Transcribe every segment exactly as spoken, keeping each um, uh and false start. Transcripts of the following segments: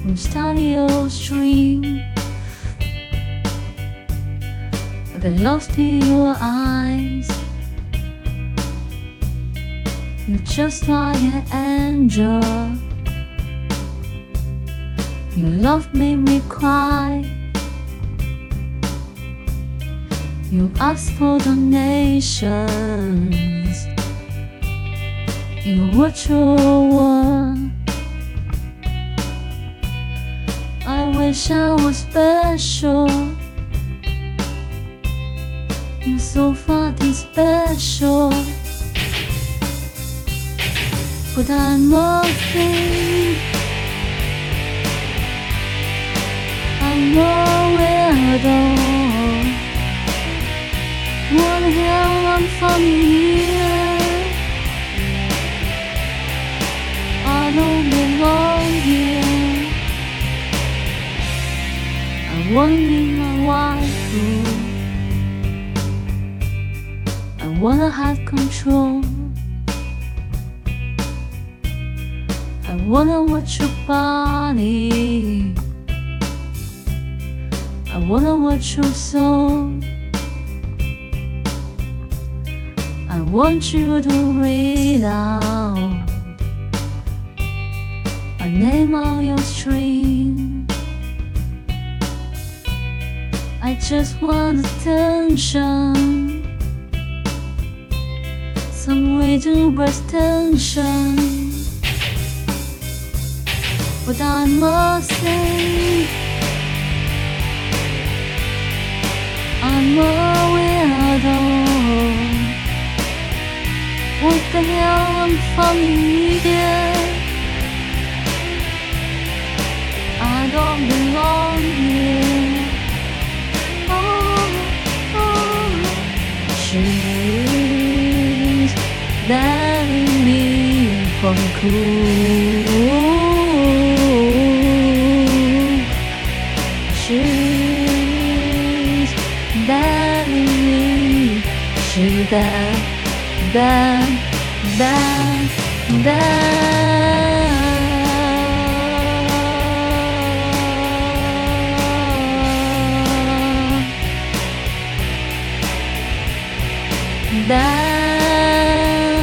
from study or stream. I get lost in your eyes. You're just like an angel. Your love made me cry. You asked for donations in a virtual world. I wish I was special. You're so fucking special. But I'm nothing. I'm no weirdo. What the hell, I'm from here. I don't belong here. I wanna be my wife. I wanna have control. I wanna watch your body. I wanna watch your soul. I want you to read out a name on your string. I just want attention, some way to breast tension. But I must say, I'm a weirdo. What the hell, I'm from here. I don't belong here. Oh, oh. She's letting me from cool. She's letting me. She's that. Bad, bad, bad. Bad.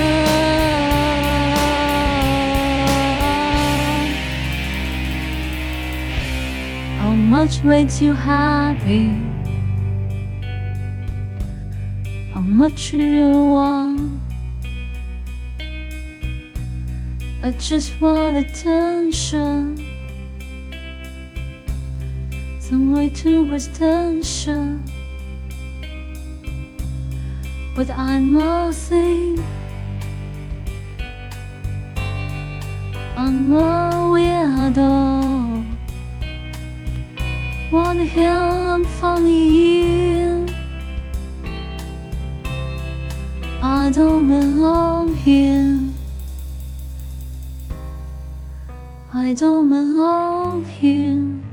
How much makes you happy? How much do you want? I just want attention, some way to breast tension. But I'm nothing. I'm a weirdo. What the hell, I'm funny here. I don't belong here. I don't belong here.